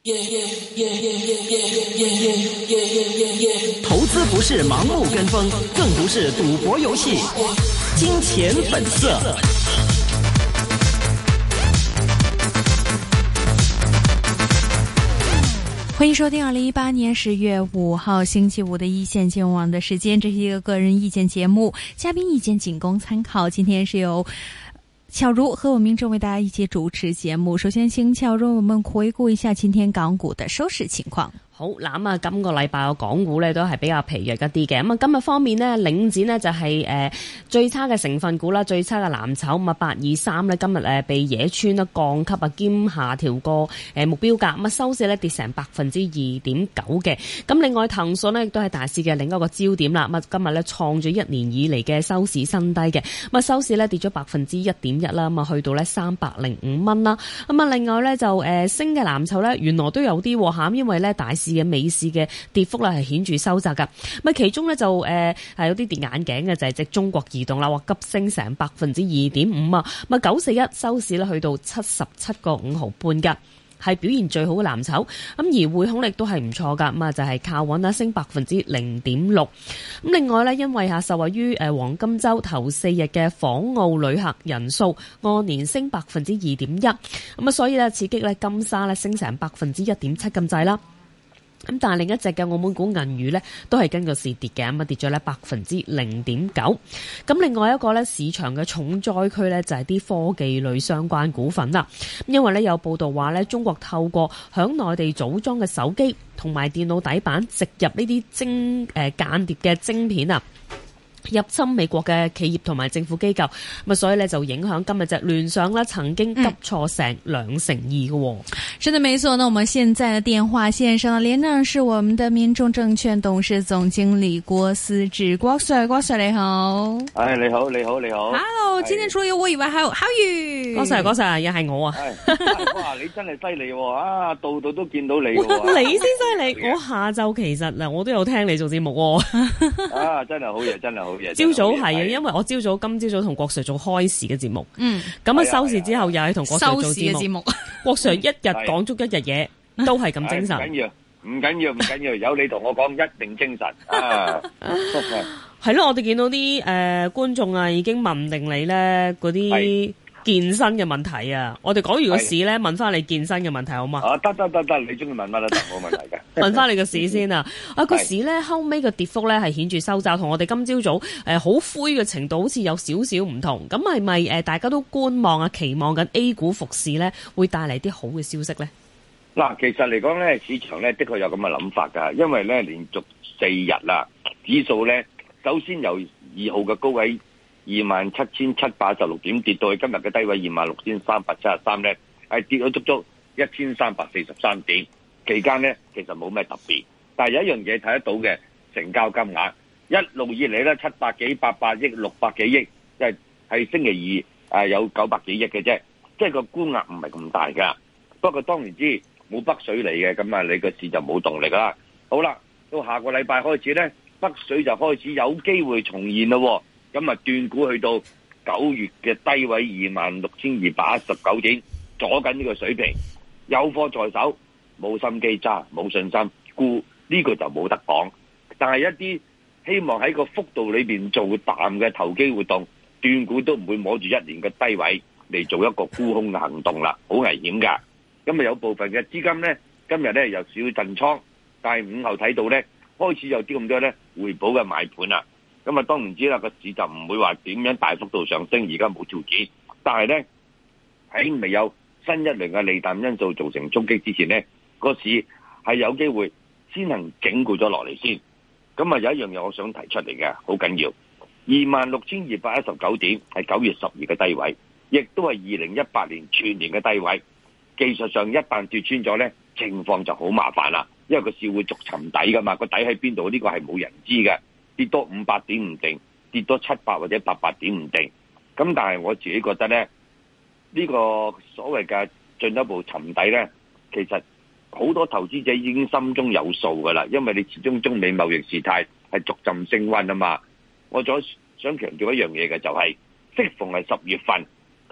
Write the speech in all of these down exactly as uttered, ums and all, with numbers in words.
投資不是盲目跟風，更不是賭博遊戲。金錢本色。 歡迎收聽二零一八年十月五號星期五的一線金融網的時間，這是一個個人意見節目，嘉賓意見僅供參考。今天是由巧如和我明正為大家一起主持節目。首先請巧如我們回顧一下今天港股的收市情況。 好嗱，咁啊，今個禮拜個港股咧都係比較疲弱一啲嘅。咁啊，今日方面呢，領展呢就係誒最差嘅成分股啦，最差嘅藍籌。咁啊，八二三呢今日誒被野村啦降級啊，兼下調個誒目標價。咁啊，收市咧跌成百分之二點九嘅。咁另外騰訊呢亦都係大市嘅另一個焦點啦。咁啊，今日咧創咗一年以嚟嘅收市新低嘅。咁啊，收市咧跌咗百分之一點一啦。咁啊，去到咧三百零五蚊啦。咁啊，另外咧就誒升嘅藍籌咧原來都有啲嚇，因為咧大市嘅美市嘅跌幅咧係顯著收窄噶，咁其中咧就誒係、呃、有啲跌眼鏡嘅就係、是、隻中國移動啦，話急升成百分之二點五啊，咁啊九四一收市咧去到七十七個五毫半噶，係表現最好嘅藍籌。咁而匯控力都係唔錯噶，咁啊就係、是、靠穩啦，升百分之零點六。咁另外咧，因為吓受惠於誒黃金週頭四日嘅訪澳旅客人數按年升百分之二點一，咁啊所以咧刺激咧金沙咧升成百分之一點七咁滯啦。咁但係另一隻嘅澳門股銀娛呢，都係跟個市跌嘅，咁啊跌咗呢百分之零點九。咁另外一個呢，市場嘅重災區呢，就係啲科技類相關股份啦。因為呢，有報道話呢，中國透過響內地組裝嘅手機同埋電腦底板植入呢啲晶誒間諜嘅晶片啊，入侵美國嘅企業同埋政府機構，咁所以呢就影響今日隻聯想呢曾經急挫成兩成二嘅。 是的，沒錯。那我們現在的電話線上連上是我們的民眾證券董事總經理郭思治，郭 Sir， 郭 Sir 你好。 哎，你好，你好，你好。 Hello，今天除了有我以外，還有浩宇。 郭 Sir， 郭 Sir， 又係我啊。 哇，你真係犀利喎！啊，度度都見到你喎。 你先犀利，我下晝其實嗱，我都有聽你做節目喎。 啊，真係好嘢，真係好嘢。 朝早係啊，因為我朝早今朝早同郭 Sir 做開市嘅節目，嗯，咁啊收市之後又係同郭 Sir 做節目。郭 Sir 一日講足一日嘢，都係咁精神。唔緊要， 唔緊要，唔緊要，有你同我講一定精神啊！ 係咯，我哋見到啲誒、呃、觀眾啊，已經問定你咧嗰啲健身嘅問題啊。我哋講完個市咧，問翻你健身嘅問題好嘛？ 啊，得得得得，你中意問乜都得，冇問題嘅。 問翻你個市先啊！啊個市咧後尾個跌幅咧係顯著收窄，同我哋今朝早誒好灰嘅程度好似有少少唔同。咁係咪誒大家都觀望啊，期望緊 A 股復市咧會帶嚟啲好嘅消息咧？ 嗱，其實嚟講咧，市場咧的確有咁嘅諗法㗎，因為咧連續四日啦，指數咧首先由二號嘅高位二萬七千七百十六點跌到去今日嘅低位二萬六千三百七十三咧，係跌咗足足一千三百四十三點。期間咧其實冇咩特別，但係有一樣嘢睇得到嘅，成交金額一路以嚟咧七百幾、八百億、六百幾億，即係係星期二誒有九百幾億嘅啫，即係個沽額唔係咁大㗎。不過當然知冇北水嚟嘅，咁啊你個市就冇動力啦。好啦，到下個禮拜開始咧，北水就開始有機會重現咯。咁啊斷估去到九月嘅低位二萬六千二百一十九點，阻緊呢個水平，有貨在手，冇心機揸，冇信心沽，呢個就冇得講。但係一啲希望喺個幅度裏邊做淡嘅投機活動，斷估都唔會摸住一年嘅低位嚟做一個沽空嘅行動啦，好危險噶。咁啊有部分嘅資金咧，今日咧有少少震倉，但係午後睇到咧，開始有啲咁多咧回補嘅買盤啦。咁啊當然知啦，個市就唔會話點樣大幅度上升，而家冇條件。但係咧喺未有新一輪嘅利淡因素造成衝擊之前咧，個市係有機會先行整固咗落嚟先。咁啊有一樣嘢我想提出嚟嘅，好緊要，二萬六千二百一十九點係九月十二嘅低位，亦都係二零一八年全年嘅低位。技術上一旦跌穿咗呢，情況就好麻煩啦，因為個市會逐沉底噶嘛，個底喺邊度呢個係冇人知嘅，跌多五百點唔定，跌多七百或者八百點唔定。咁但係我自己覺得呢，呢個所謂嘅進一步沉底呢，其實好多投資者已經心中有數噶啦，因為你始終中美貿易事態係逐漸升溫啊嘛。我再想強調一樣嘢嘅就係，適逢係十月份，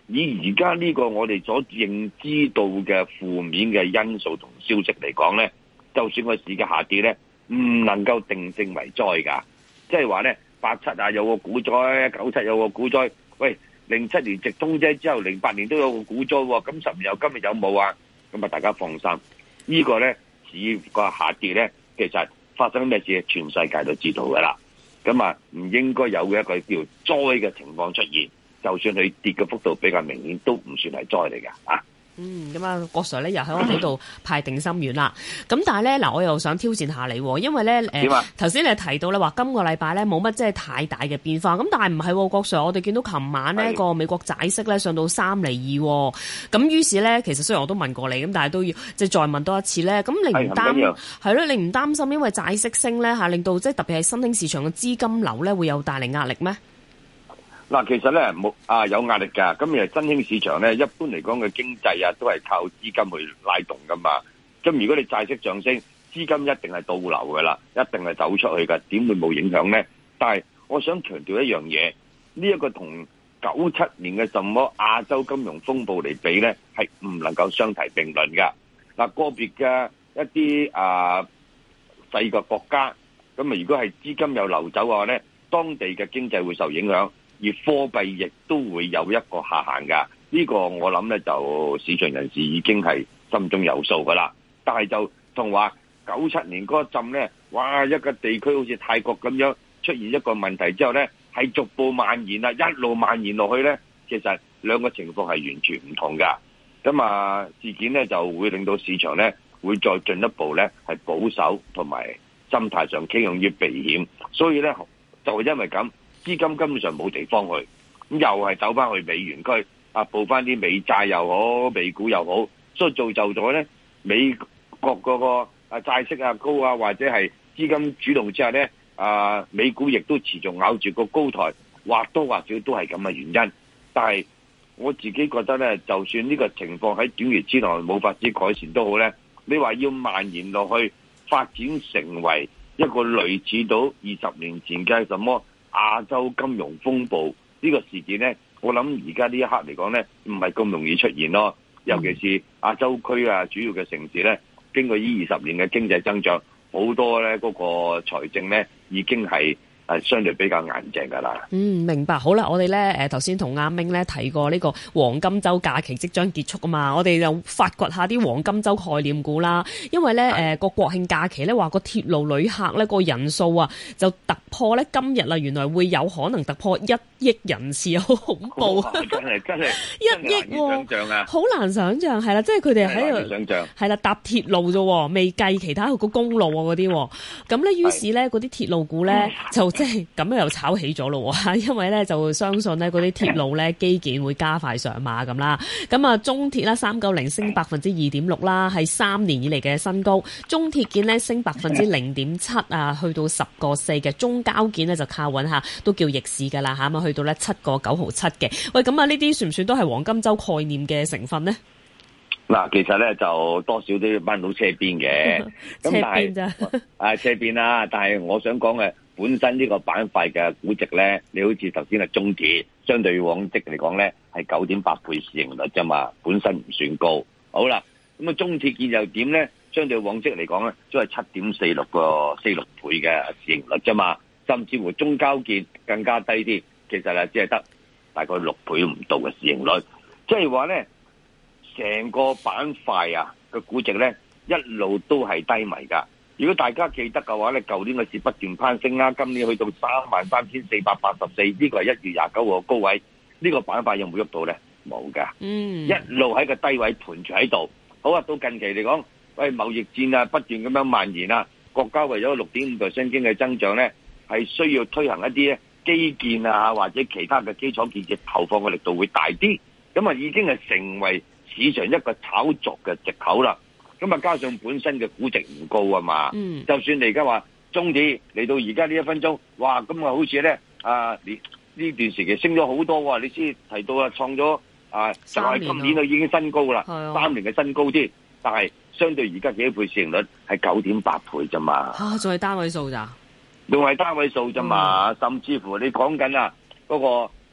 以而家呢個我哋所認知到嘅負面嘅因素同消息嚟講咧，就算個市嘅下跌咧，唔能夠定性為災㗎。即係話咧，八七啊有個股災，九七有個股災，喂，零七年直通車之後，零八年都有個股災喎，咁十年後今日有冇啊？咁啊，大家放心，這個、呢個咧市個下跌咧，其實發生咩事，全世界都知道㗎啦。咁啊，唔應該有一個叫災嘅情況出現。就算佢跌嘅幅度比較明顯，都唔算係災嚟㗎啊！ 嗯，咁啊，郭 Sir 咧又喺我哋度派定心丸啦。咁但係咧，嗱，我又想挑戰下你，因為咧，誒頭先你提到咧話今個禮拜咧冇乜即係太大嘅變化。咁但係唔係，郭 Sir，我哋見到琴晚呢個美國債息咧上到三厘二。咁於是咧，其實雖然我都問過你，咁但係都要即係再問多一次咧。咁你唔擔係咯？你唔擔心因為債息升咧嚇，令到即係特別係新興市場嘅資金流咧會有帶嚟壓力咩？ 嗱，其實咧冇啊有壓力㗎。咁誒新興市場咧，一般嚟講嘅經濟啊，都係靠資金去拉動㗎嘛。咁如果你債息上升，資金一定係倒流㗎啦，一定係走出去㗎，點會冇影響咧？但係我想強調一樣嘢，呢一個同九七年嘅什麼亞洲金融風暴嚟比咧，係唔能夠相提並論㗎。嗱，個別嘅一啲啊細個國家，咁啊如果係資金有流走嘅話咧，當地嘅經濟會受影響。而貨幣亦都會有一個下限㗎，呢、這個我諗咧就市場人士已經係心中有數㗎啦。但係就同話九七年嗰陣咧，哇一個地區好似泰國咁樣出現一個問題之後咧，係逐步蔓延啦，一路蔓延落去咧，其實兩個情況係完全唔同㗎。咁啊事件咧就會令到市場咧會再進一步咧係保守同埋心態上傾向於避險，所以咧就係因為咁。資金根本上冇地方去，咁又係走翻去美元區啊，報翻啲美債又好，美股又好，所以造就咗咧美國嗰個啊債息啊高啊，或者係資金主動之下咧啊，美股亦都持續咬住個高台，或多或少都係咁嘅原因。但係我自己覺得咧，就算呢個情況喺短期之內冇法子改善都好咧，你話要蔓延落去，發展成為一個類似到二十年前嘅什麼亞洲金融風暴呢個事件呢，我諗而家呢一刻嚟講呢，唔係咁容易出現咯。尤其是亞洲區啊，主要嘅城市呢，經過呢二十年嘅經濟增長，好多呢嗰個財政呢已經係係相對比較硬淨噶啦。 嗯，明白。好啦，我哋咧誒頭先同阿明咧提過呢個黃金週假期即將結束啊嘛，我哋就發掘下啲黃金週概念股啦。因為咧誒個國慶假期咧話個鐵路旅客咧個人數啊就突破咧今日啦，原來會有可能突破一億人次，好恐怖！ 真係真係一億喎，好難想像係啦，即係佢哋喺度想像係啦搭鐵路啫，未計其他個公路啊嗰啲。咁咧於是咧嗰啲鐵路股咧就即係咁樣又炒起咗咯，因為咧就相信咧嗰啲鐵路咧基建會加快上馬咁啦。咁啊，中鐵啦三九零升百分之二點六啦，係三年以嚟嘅新高。中鐵建咧升百分之零點七啊，去到十個四嘅。中交建咧就靠穩下，都叫逆市噶啦吓，咁去到咧七個九毫七嘅。喂，咁啊呢啲算唔算都係黃金周概念嘅成分呢？ 嗱，其實咧就多少都要掹到車邊嘅，咁但係啊車邊啦，但係我想講嘅。本身呢個板塊嘅估值咧，你好似頭先係中鐵，相對往績嚟講咧係九點八倍市盈率啫嘛，本身唔算高。好啦，咁啊中鐵建又點咧？相對往績嚟講咧，都係七點四六個四六倍嘅市盈率啫嘛，甚至乎中交建更加低啲，其實係只係得大概六倍唔到嘅市盈率，即係話咧，成個板塊啊嘅估值咧一路都係低迷噶。如果大家記得嘅話咧，舊年嘅市不斷攀升啦，今年去到三萬三千四百八十四，呢個係一月廿九號嘅高位，呢個板塊有冇喐到咧？冇噶，嗯，一路喺個低位盤住喺度。好啊，到近期嚟講，喂，貿易戰啊不斷咁樣蔓延啊，國家為咗六點五 percent 經濟增長咧，係需要推行一啲基建啊或者其他嘅基礎建設投放嘅力度會大啲，咁啊已經係成為市場一個炒作嘅藉口啦。咁啊，加上本身嘅估值唔高啊嘛，嗯、就算你而家話中鐵嚟到而家呢一分鐘，哇，咁啊好似咧啊，呢呢段時期升咗好多喎，你先提到啊，創咗啊，就係今年都已經新高啦，三年嘅新高添，但係相對而家幾倍市盈率係九點八倍啫嘛， 嚇，仲係單位數咋？ 仲係單位數啫嘛，嗯、甚至乎你講緊啊嗰個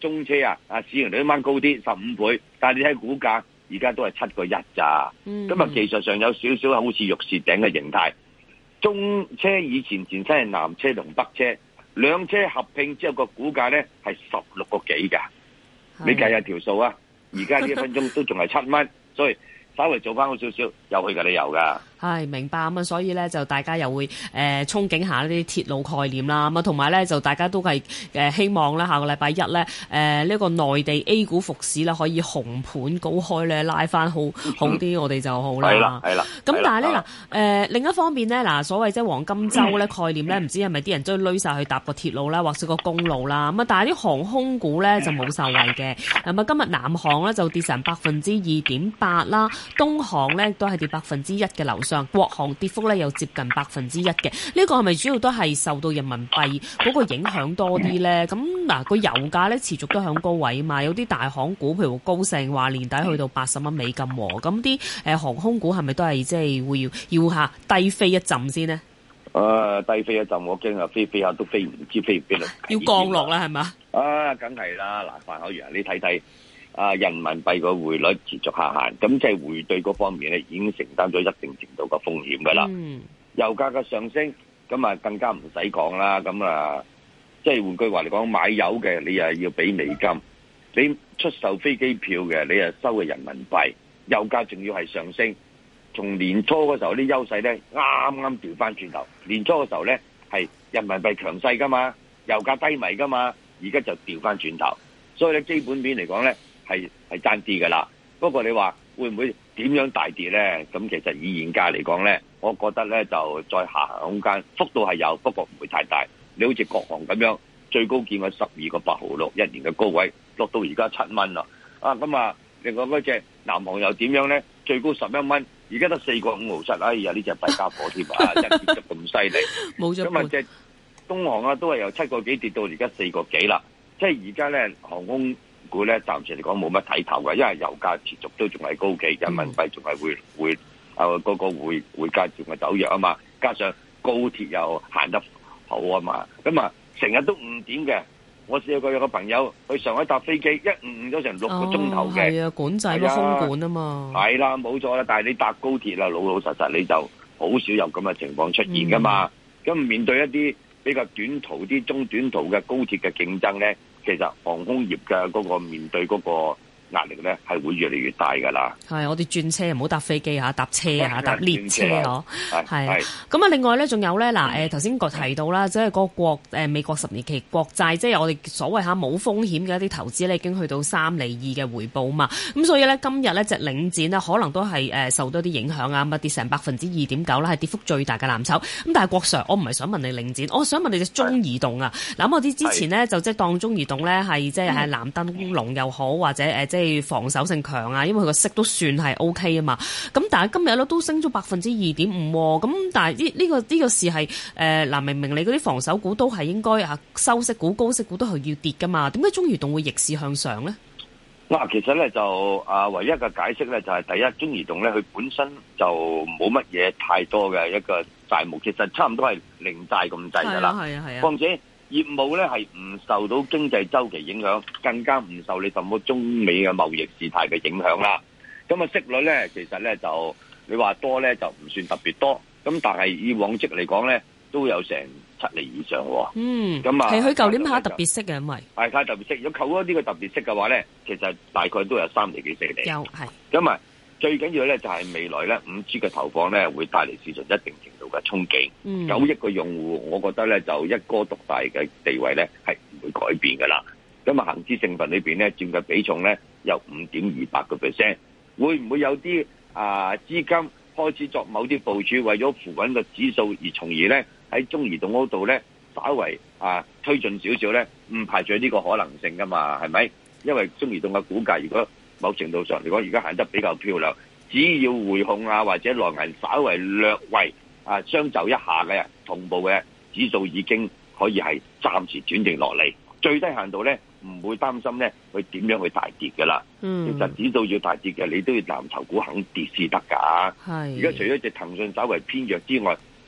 中車啊，啊市盈率啱啱高啲十五倍，但係你睇股價而家都係七個一咋，咁啊技術上有少少好似玉樹頂嘅形態。中車以前前身係南車同北車，兩車合併之後個股價咧係十六個幾㗎，你計下條數啊！而家呢一分鐘都仲係七蚊，所以稍微做翻好少少，有去嘅理由㗎。 係明白咁啊，所以咧就大家又會誒、呃、憧憬下呢啲鐵路概念啦，咁啊同埋咧就大家都係誒、呃、希望咧下個禮拜一咧誒呢、呃這個內地 A 股復市咧可以紅盤高開咧拉翻好好啲，我哋就好啦。 係啦，係啦。 咁但係咧嗱誒另一方面咧嗱，所謂即係黃金週咧概念咧，唔知係咪啲人都攏晒去搭個鐵路啦，或者個公路啦咁啊？但係啲航空股咧就冇受惠嘅。咁啊今日南航咧就跌成百分之二點八啦，東航咧都係跌百分之一嘅樓上。國航跌幅咧又接近百分之一嘅，呢個係咪主要都係受到人民幣嗰個影響多啲咧？咁嗱個油價咧持續都響高位啊嘛，有啲大行股譬如高盛話年底去到八十蚊美金喎，咁啲誒航空股係咪都係即係會要要下低飛一陣先呢？ 誒、呃，低飛一陣，我驚啊飛飛下都飛唔知飛唔飛啦， 要降落啦係嘛？ 啊，梗係啦，嗱，范海洋，你睇睇。啊！人民幣個匯率持續下行，咁即係匯兌嗰方面咧，已經承擔咗一定程度嘅風險㗎啦。嗯、油價嘅上升，咁啊更加唔使講啦。咁啊，即係換句話嚟講，買油嘅你又要俾美金，你出售飛機票嘅你又收嘅人民幣，油價仲要係上升。從年初嗰時候啲優勢咧，啱啱調翻轉頭。年初嗰時候咧係人民幣強勢㗎嘛，油價低迷㗎嘛，而家就調翻轉頭。所以咧基本面嚟講咧。係係爭啲噶啦，不過你話會唔會點樣大跌咧？咁其實以現價嚟講咧，我覺得咧就再下行空間幅度係有，不過唔會太大。你好似國航咁樣，最高見過十二個八毫六一年嘅高位，落到而家七蚊啦。啊咁啊，另外嗰隻南航又點樣咧？最高十一蚊，而家得四個五毫七。哎呀，呢隻弊家伙添啊，一跌得咁犀利。冇咗。咁啊，隻東航啊，都係由七個幾跌到而家四個幾啦。即係而家咧航空股咧暫時嚟講冇乜睇頭嘅，因為油價持續都仲係高企，人民幣仲係會會啊嗰個匯匯價仲係走弱啊嘛，加上高鐵又行得好啊嘛，咁啊成日都誤點嘅。我試過有個朋友去上海搭飛機，一誤咗成六個鐘頭嘅。係、哦、啊，管制咯，空管啊嘛。係啦，冇錯啦。但係你搭高鐵啦，老老實實你就好少有咁嘅情況出現噶嘛。咁、嗯、面對一啲比較短途啲、中短途嘅高鐵嘅競爭咧。其實航空業嘅嗰個面對嗰個壓力咧，係會越嚟越大㗎啦。係，我哋轉車唔好搭飛機嚇，搭車嚇，搭列車嗬。係。咁啊，另外咧，仲有咧嗱，誒頭先個提到啦，即係個國誒美國十年期國債，即係我哋所謂嚇冇風險嘅一啲投資咧，已經去到三厘二嘅回報嘛。咁所以咧，今日咧隻領展呢，可能都係誒受到啲影響啊，咁啊跌成百分之二點九啦，係跌幅最大嘅藍籌。咁但係郭 Sir，我唔係想問你領展，我想問你隻中移動啊。嗱，我啲之前呢，就即係當中移動咧係即係係藍燈籠又好，或者誒即係防守性強啊，因為佢個息都算係 O K 啊嘛。咁但係今日咧都升咗百分之二點五，咁但係呢呢個呢、呢個事係誒嗱，明明你嗰啲防守股都係應該啊收息股、高息股都係要跌噶嘛，點解中移動會逆市向上咧？嗱，其實咧就啊，唯一嘅解釋咧就係、是、第一，中移動咧佢本身就冇乜嘢太多嘅一個債務，其實差唔多係零債咁滯噶啦。係啊係啊。況且業務咧係唔受到經濟周期影響，更加唔受你什麼中美嘅貿易事態嘅影響啦。咁啊息率咧，其實咧就你話多咧就唔算特別多，咁但係以往績嚟講咧都有成七厘以上喎。嗯，咁啊係佢舊年派特別息嘅，因為係派特別息。如果扣咗呢個特別息嘅話咧，其實大概都有三厘幾四厘。有係。咁啊最緊要咧就係未來咧五 G 嘅投放咧會帶嚟市場一定程度嘅衝擊。嗯，九億個用戶，我覺得咧就一哥獨大嘅地位咧係唔會改變噶啦。咁啊恒指成分裏邊咧佔嘅比重咧有五點二八個 percent， 會唔會有啲啊資金開始作某啲部署，為咗扶穩個指數，而從而咧喺中移動嗰度咧稍為啊推進少少咧，唔排除呢個可能性噶嘛，係咪？因為中移動嘅股價如果某程度上嚟講，而家行得比較漂亮，只要匯控啊或者內銀稍為略為啊相就一下嘅同步嘅指數，已經可以係暫時轉定落嚟，最低限度咧唔會擔心咧佢點樣去大跌㗎啦。嗯，其實指數要大跌嘅，你都要藍籌股肯跌先得㗎。係。而家除咗隻騰訊稍為偏弱之外，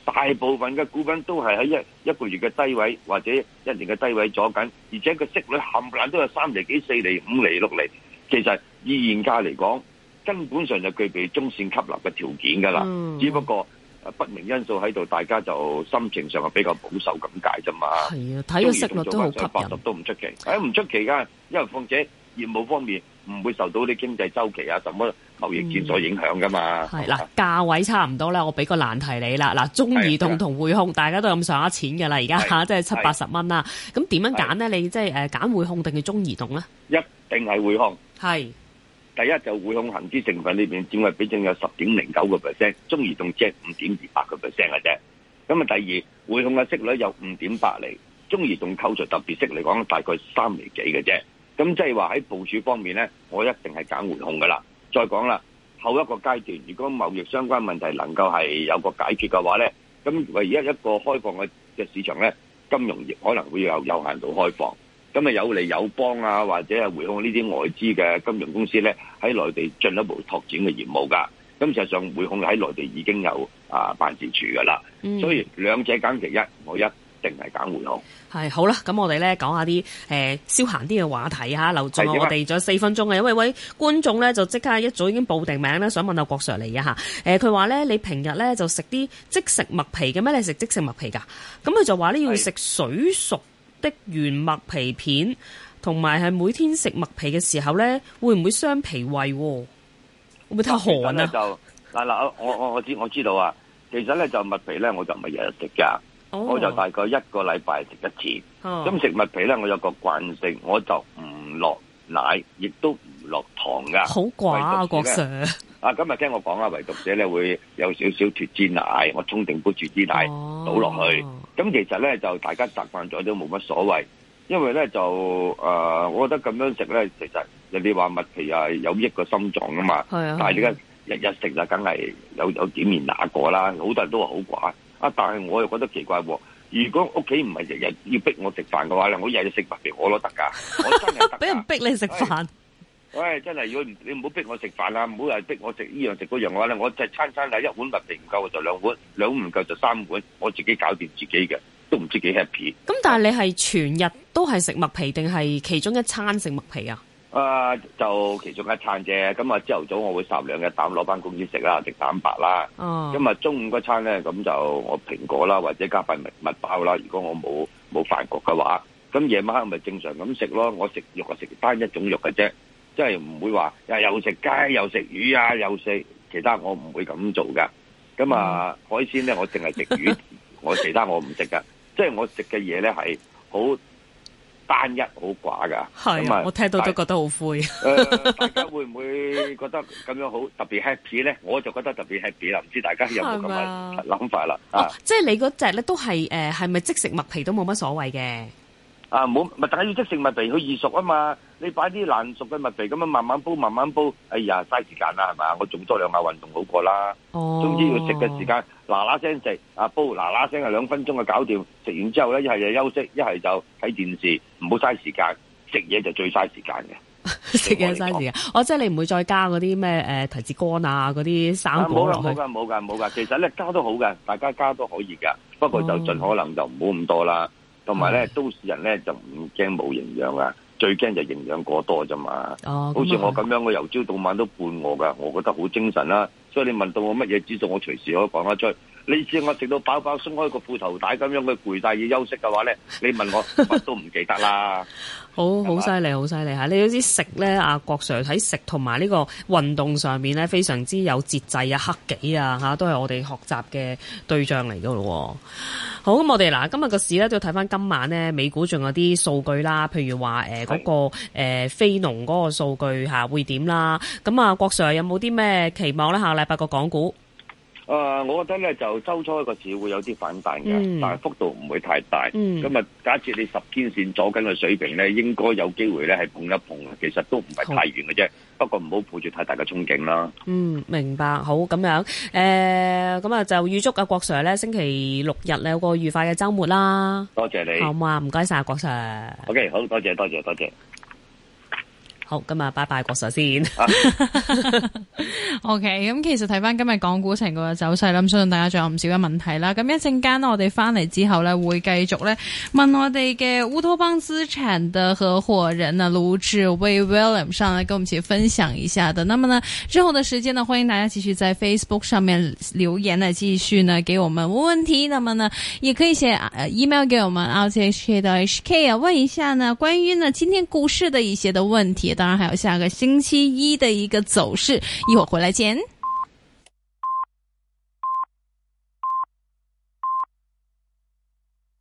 大部分嘅股份都係喺一一個月嘅低位或者一年嘅低位咗緊，而且個息率冚唪唥都有三厘幾、四厘、五厘、六厘。其實以現價嚟講，根本上就具備中線吸納嘅條件㗎啦。嗯、只不過不明因素喺度，大家就心情上係比較保守咁解啫嘛。係啊， 睇個息率都好吸引，八十都唔出奇。誒唔出奇㗎，因為況且業務方面唔會受到啲經濟周期啊、什麼貿易戰所影響㗎嘛。 係啦、嗯，價位差唔多啦，我俾個難題你啦。嗱，中移動同匯控大家都咁上下錢㗎啦，而家嚇即係七八十蚊啦。咁點樣揀呢？你即係誒揀匯控定係中移動咧？ 一定係匯控。 係。 第一就匯控恒指成分裏邊佔嘅比重有十點零九個 percent， 中移動只係五點二八個 percent 嘅啫。咁啊，第二匯控嘅息率有五點八厘，中移動扣除特別息嚟講，大概三厘幾嘅啫。咁即係話喺部署方面咧，我一定係揀匯控噶啦。再講啦，後一個階段，如果貿易相關問題能夠係有個解決嘅話咧，咁唯一一個開放嘅嘅市場咧，金融業可能會有有限度開放。咁啊有利友邦啊，或者係匯控呢啲外資嘅金融公司咧，喺內地進一步拓展嘅業務㗎。咁實際上匯控喺內地已經有啊辦事處㗎啦。嗯、所以兩者揀其一，我一定係揀匯控。 係好啦，咁我哋咧講下啲誒消閒啲嘅話題嚇，留咗我哋仲有四分鐘嘅，因為位觀眾咧就即刻一早已經報定名咧，想問下郭 Sir 嚟嘅嚇。誒佢話咧，你平日咧就食啲即食麥皮嘅咩？你食即食麥皮㗎？咁佢就話咧要食水熟的原麥皮片，同埋係每天食麥皮嘅時候咧，會唔會傷脾胃？會唔會太寒啊？ 就嗱嗱，我我我知我知道啊。其實咧就麥皮咧，我就唔係日日食噶，我就大概一個禮拜食一次。咁食麥皮咧，我有個慣性，我就唔落奶，亦都唔落糖噶。好寡啊，郭 Sir。 啊，今日聽我講啊，唯獨者咧會有少少脫脂奶，我沖定杯脫脂奶倒落去。咁、哦、其實咧就大家習慣咗都冇乜所謂，因為咧就誒、呃，我覺得咁樣食咧，其實人哋話麥皮係有益個心臟噶嘛。係啊。但係你而家日日食就梗係有有點面那過啦，好多人都話好寡。啊，但係我又覺得奇怪喎。如果屋企唔係日日要逼我食飯嘅話咧，我日日食麥皮我都得㗎，我真係得。 俾人逼你食飯。 喂，真係如果你唔好逼我食飯啦，唔好又逼我食呢樣食嗰樣嘅話咧，我就餐餐係一碗麥皮唔夠就兩碗，兩碗唔夠就三碗，我自己搞掂自己嘅，都唔知幾 happy。 咁但係你係全日都係食麥皮定係其中一餐食麥皮啊？ 啊、呃，就其中一餐啫。咁啊，朝頭早我會烚兩隻蛋攞翻公司食啦，食蛋白啦。哦。咁啊，中午嗰餐咧，咁就我蘋果啦，或者加塊麥麥包啦。如果我冇冇飯局嘅話，咁夜晚黑咪正常咁食咯。我食肉啊，食單一種肉嘅啫。即係唔會話又又食雞又食魚啊，又食其他，我唔會咁做噶。咁啊、嗯、海鮮咧，我淨係食魚，我其他我唔食噶。即係我食嘅嘢咧係好單一、好寡噶。係啊， 我聽到都覺得好灰。誒、 呃，大家會唔會覺得咁樣好特別 happy 咧？我就覺得特別 happy 啦。唔知大家有冇咁嘅諗法啦？ 哦，即係你嗰隻咧都係誒，係咪即食麥皮都冇乜所謂嘅？ 啊，冇咪，但係要即食麥皮，佢易熟啊嘛。你擺啲爛熟嘅麥皮咁樣慢慢煲，慢慢煲，哎呀，嘥時間啦，係嘛？我做多兩下運動好過啦。哦，總之要食嘅時間嗱嗱聲食，啊煲嗱嗱聲係兩分鐘就搞掂。食完之後咧，一係就休息，一係就睇電視，唔好嘥時間。食嘢就最嘥時間嘅。 食嘢嘥時間。我即係你唔會再加嗰啲咩誒提子乾啊，嗰啲生果落去。 冇噶冇噶冇噶，其實咧加都好嘅，大家加都可以噶。不過就盡可能就唔好咁多啦。同埋咧，都市人咧就唔驚冇營養啊，最驚就營養過多啫嘛。哦，好似我咁樣，我由朝到晚都半餓噶，我覺得好精神啦。所以你問到我乜嘢指數，我隨時可以講得出。你知我食到飽飽，鬆開個褲頭帶咁樣，佢攰晒要休息嘅話咧，你問我乜都唔記得啦。 好好犀利，好犀利嚇！你都知食咧，阿郭 Sir 喺食同埋呢個運動上面咧，非常之有節制啊、克己啊嚇，都係我哋學習嘅對象嚟㗎咯。好，咁我哋嗱，今日個市咧都要睇翻今晚咧，美股仲有啲數據啦，譬如話誒嗰個誒、呃、非農嗰個數據嚇會點啦。咁啊，郭 Sir 有冇啲咩期望咧？下個禮拜個港股？ 誒、呃，我覺得咧就周初一個市會有啲反彈嘅，嗯、但係幅度唔會太大。咁啊、嗯，假設你十天線左緊嘅水平咧，應該有機會咧係碰一碰嘅。其實都唔係太遠嘅啫，好不過唔好抱住太大嘅憧憬啦。嗯， 明白。好，咁樣誒，咁、呃、啊就預祝阿郭 Sir 咧星期六日咧有個愉快嘅週末啦。 多謝你。 好嘛，唔該晒郭 Sir。 OK，好多謝多謝多謝。 好，今日拜拜郭 Sir 先。 O K， 咁其實睇翻今日港股成個走勢啦，咁相信大家仲有唔少嘅問題啦。咁一陣間我哋翻嚟之後咧，會繼續咧問我哋嘅烏托邦資產嘅合夥人呢盧志威 William 上嚟跟我們一起分享一下的。那麼呢之後的時間呢，歡迎大家繼續在 Facebook 上面留言呢，繼續呢給我們問問題。那麼呢，也可以寫 email 給我們 r t h k 到 h k 啊，問一下呢關於呢今天股市的一些的問題。當然還有下個星期一的一個走勢，一會兒回來見。